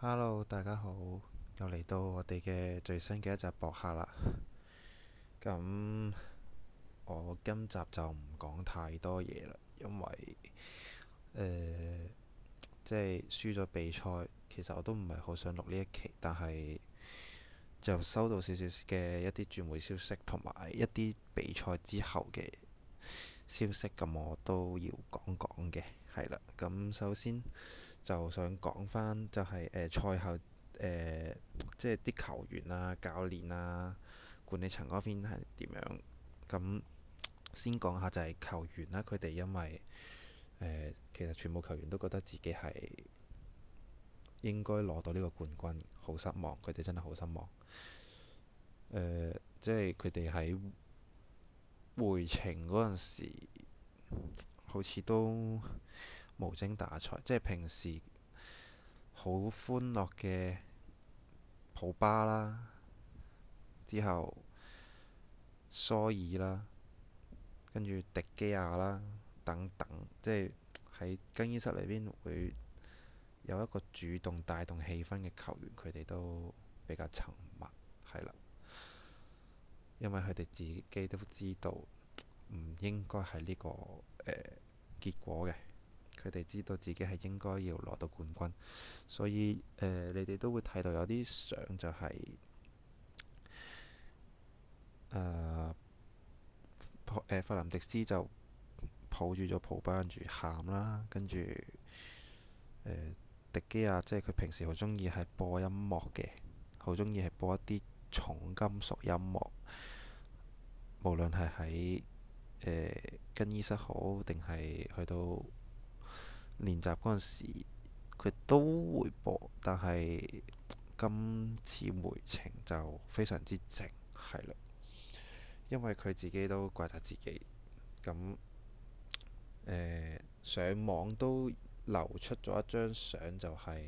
Hello，大家好，又嚟到我哋嘅最新嘅一集播客啦。咁我今集就唔講太多嘢啦，因為即係輸咗比賽，其實我都唔係好想錄呢一期，但係就收到少少嘅一啲轉會消息，同埋一啲比賽之後嘅消息，咁我都要講講嘅，係啦。咁首先就想講翻就係賽後即係啲球員啊、教練啊、管理層嗰邊係點樣？咁先講下就係球員啦，佢哋因為其實全部球員都覺得自己係應該攞到呢個冠軍，好失望，佢哋真係好失望。即係佢哋喺回程嗰陣時，好似都無精打采，即係平時好歡樂嘅普巴啦，之後蘇爾啦，跟住迪基亞啦等等，即係喺更衣室裏邊會有一個主動帶動氣氛嘅球員，佢哋都比較沉默，係啦，因為佢哋自己都知道唔應該係呢個結果嘅，佢哋知道自己係應該要攞到冠軍，所以你哋都會睇到有啲相就係、誒弗林迪斯就抱住咗普巴跟住喊啦，跟住迪基亞即係佢平時好中意係播音樂嘅，好中意係播一啲重金屬音樂，無論係喺更衣室好定係去到練習嗰陣時，佢都會播。但係今次回程就非常之靜，係啦，因為佢自己都怪責自己。咁上網都流出咗一張相，就係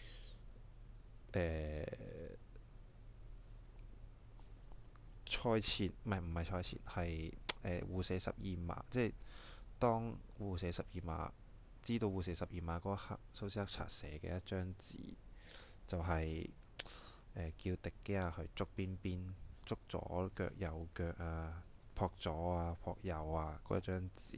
賽前，唔係賽前，係互射十二碼，即係當互射十二碼，知道互射十二碼嗰刻，蘇斯克查寫嘅一張字，就係、叫迪基亞去捉邊邊，捉左腳右腳啊，撲左啊撲右啊嗰一張字，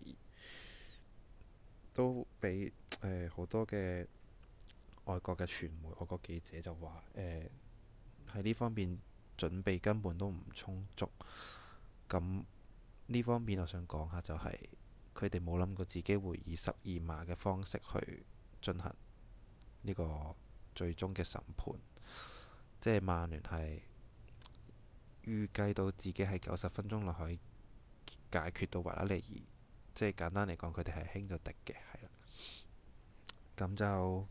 都俾好多嘅外國嘅傳媒、外國記者就話喺呢方面準備根本都唔充足。咁呢方面我想講下就係佢哋冇諗過自己會以十二碼嘅方式去進行呢個最終嘅審判，即係曼聯係預計到自己係90分鐘內可以解決到維拉利爾，即係簡單嚟講，佢哋係輕咗迪嘅，係啦。咁就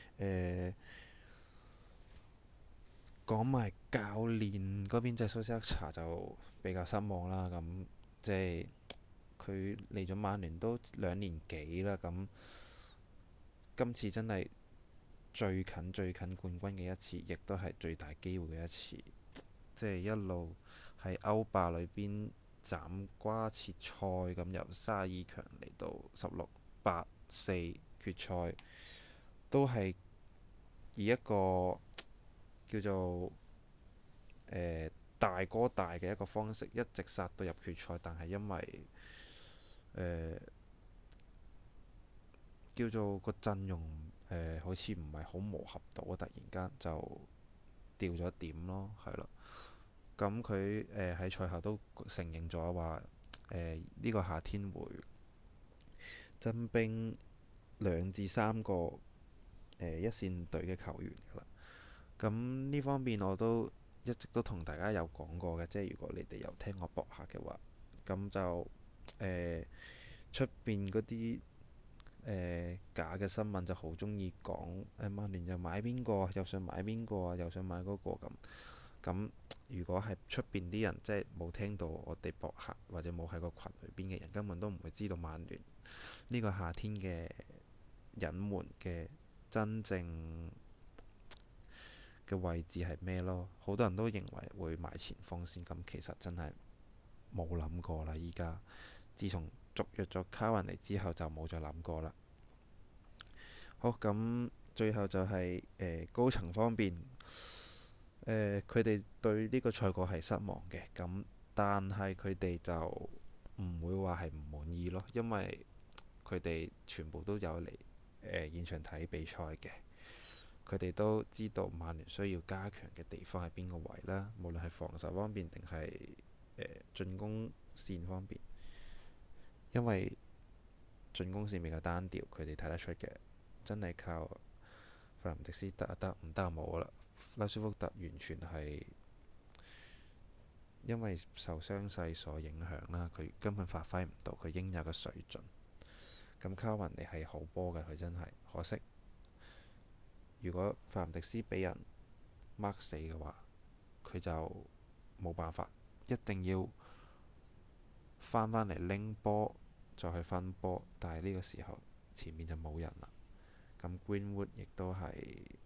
講埋教練嗰邊，即係蘇斯克查就比較失望啦。咁即係佢嚟咗曼聯都2年幾啦，咁今次真係最近冠軍嘅一次，亦都係最大機會嘅一次。即係一路喺歐霸裏邊斬瓜切菜咁，由32強嚟到16、8、4決賽，都係以一個叫做大哥大嘅一個方式，一直殺到入決賽。但係因為叫做個陣容好似唔係好磨合到，突然間就掉咗點咯，係咯。咁佢喺賽後都承認咗話呢個夏天會增兵2至3個一線隊嘅球員㗎啦。咁呢方面我都一直都同大家有講過嘅，即係如果你哋有聽我博客嘅話，咁就出邊嗰啲假嘅新聞就好中意講曼聯又買邊個，又想買邊個啊，又想買嗰個咁。咁如果係出邊啲人即係冇聽到我哋博客，或者冇喺個群裏邊嘅人，根本都唔會知道曼聯呢個夏天嘅隱瞞嘅真正嘅位置係咩咯。好多人都認為會買前鋒先，咁其實真係冇諗過啦。依家自從續約咗卡雲尼之後，就冇再諗過啦。好，咁最後就係、高層方面，佢哋對呢個賽果係失望嘅，咁但係佢哋就唔會話係唔滿意咯，因為佢哋全部都有嚟現場睇比賽嘅，佢哋都知道曼聯需要加強嘅地方喺邊個位啦，無論係防守方面定係進攻線方面，因為進攻線比較單調，佢哋睇得出嘅，真係靠弗林迪斯得啊得，唔得就冇啦。拉舒福特完全係因為受傷勢所影響啦，佢根本發揮唔到佢應有嘅水準。咁卡雲尼係好波嘅，佢真係可惜。如果弗林迪斯俾人 mark 死嘅話，佢就冇辦法，一定要翻返嚟拎波再去分波。但係呢個時候前面就冇人啦。咁 Greenwood 亦都係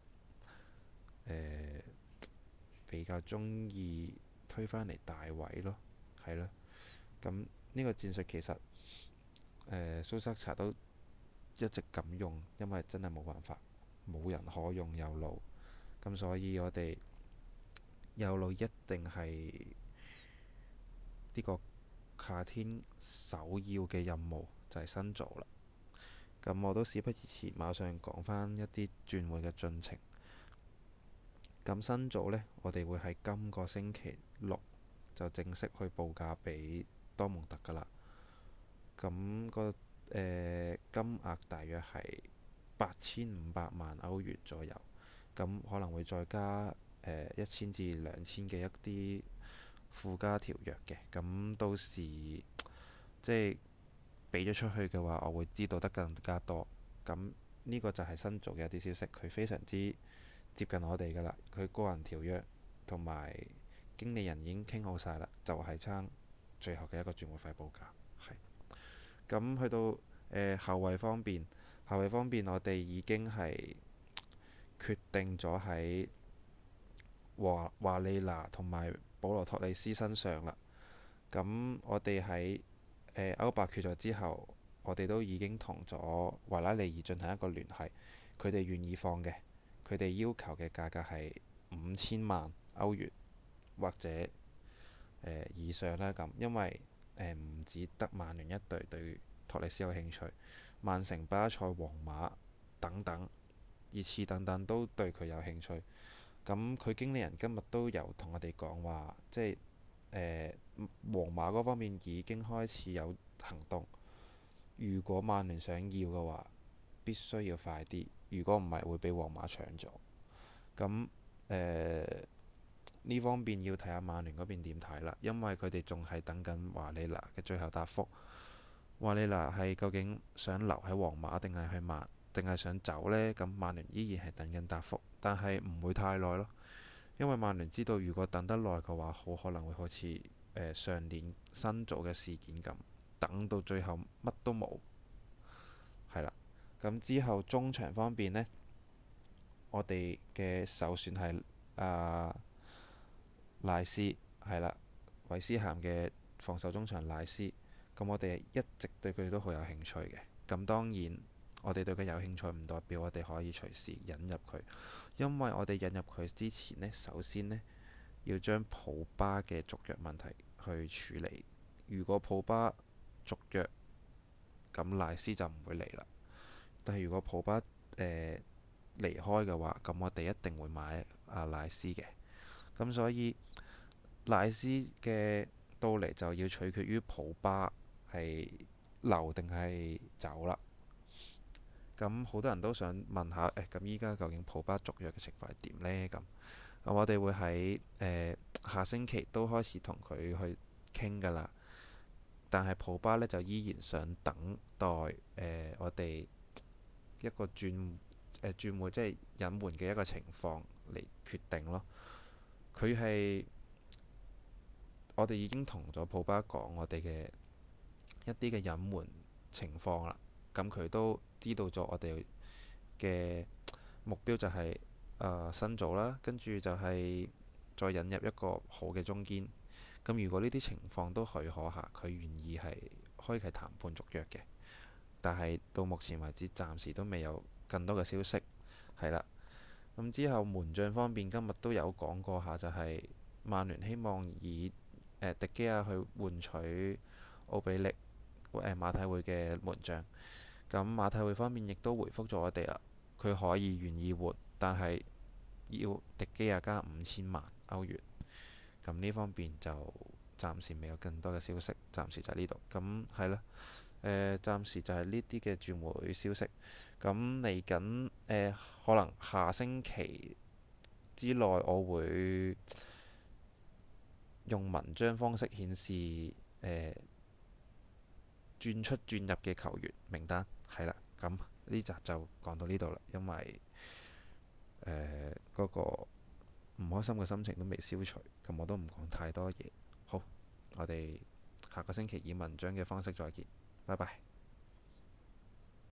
比較中意推返嚟大位咯，係咯。咁呢個戰術其實蘇塞查都一直咁用，因為真係冇辦法，冇人可用右路，咁所以我哋右路一定係呢個夏天首要嘅任務，就係新造啦。咁我都事不宜遲，馬上講返一啲轉會嘅進程。咁新組呢，我哋會喺今個星期六就正式去報價俾多蒙特㗎啦。咁金額大約係8500萬歐元左右，咁可能會再加1000至2000嘅一啲附加條約嘅。咁到時即係俾咗出去嘅話，我會知道得更加多。咁呢個就係新組嘅一啲消息，佢非常之接近我哋㗎啦。佢個人條約同埋經理人已經傾好晒啦，就係爭最後嘅一個轉會費報價。係咁去到後衞方面，後衞方面我哋已經係決定咗喺華利拿同埋保羅托里斯身上啦。咁我哋喺歐霸決咗之後，我哋都已經同咗維拉利爾進行一個聯繫，佢哋願意放嘅。佢哋要求嘅價格係5000萬歐元或者以上啦。咁因為唔止得曼聯一隊對托里斯有興趣，曼城、巴塞、皇馬等等、熱刺等等都對佢有興趣。咁佢經理人今日都有同我哋講話，即係皇馬嗰方面已經開始有行動。如果曼聯想要嘅話，必須要快啲。如果唔係，會俾皇馬搶咗。咁呢方面要睇下曼聯嗰邊點睇啦，因為佢哋仲係等緊華利拿嘅最後答覆。華利拿係究竟想留喺皇馬定係定係想走呢？咁曼聯依然係等緊答覆，但係唔會太耐咯。因為曼聯知道，如果等得耐嘅話，好可能會好似上年新組嘅事件咁，等到最後乜都冇。係啦，咁之後中場方面呢，我哋嘅首選係賴斯，係啦，韋斯咸嘅防守中場賴斯。咁我哋一直對佢都好有興趣嘅。咁當然，我哋對佢有興趣唔代表我哋可以隨時引入佢，因為我哋引入佢之前呢，首先呢，要將普巴嘅續約問題去處理。如果普巴續約，咁賴斯就唔會嚟啦。但係如果普巴離開嘅話，咁我哋一定會買賴斯嘅。咁所以賴斯嘅到嚟就要取決於普巴係留定係走啦。咁好多人都想問下，咁依家究竟普巴續約嘅情況係點呢？咁我哋會喺下星期都開始同佢去傾㗎啦。但係普巴呢，就依然想等待我哋一個轉會即係隱瞞嘅一個情況嚟決定咯。佢係我哋已經同咗普巴講我哋嘅一啲嘅隱瞞情況啦。咁佢都知道咗我哋嘅目標就係新組啦，跟住就係再引入一個好嘅中堅。咁如果呢啲情況都許可下，佢願意係開啟談判續約嘅。但係到目前為止，暫時都未有更多嘅消息。 係啦。咁之後門將方面，今日都有講過下，就係曼聯希望以迪基亞去換取奧比力馬體會嘅門將。咁馬體會方面亦都回覆咗我哋啦，佢可以願意換，但係要迪基亞加5000萬歐元。咁呢方面就暫時未有更多嘅消息，暫時就係呢度。咁係啦，暫時就係呢啲嘅轉會消息。咁嚟緊可能下星期之內，我會用文章方式顯示轉出轉入嘅球員名單。係啦，咁呢集就講到呢度啦，因為嗰個唔開心嘅心情都未消除，咁我都唔講太多嘢。好，我哋下個星期以文章嘅方式再見，拜拜。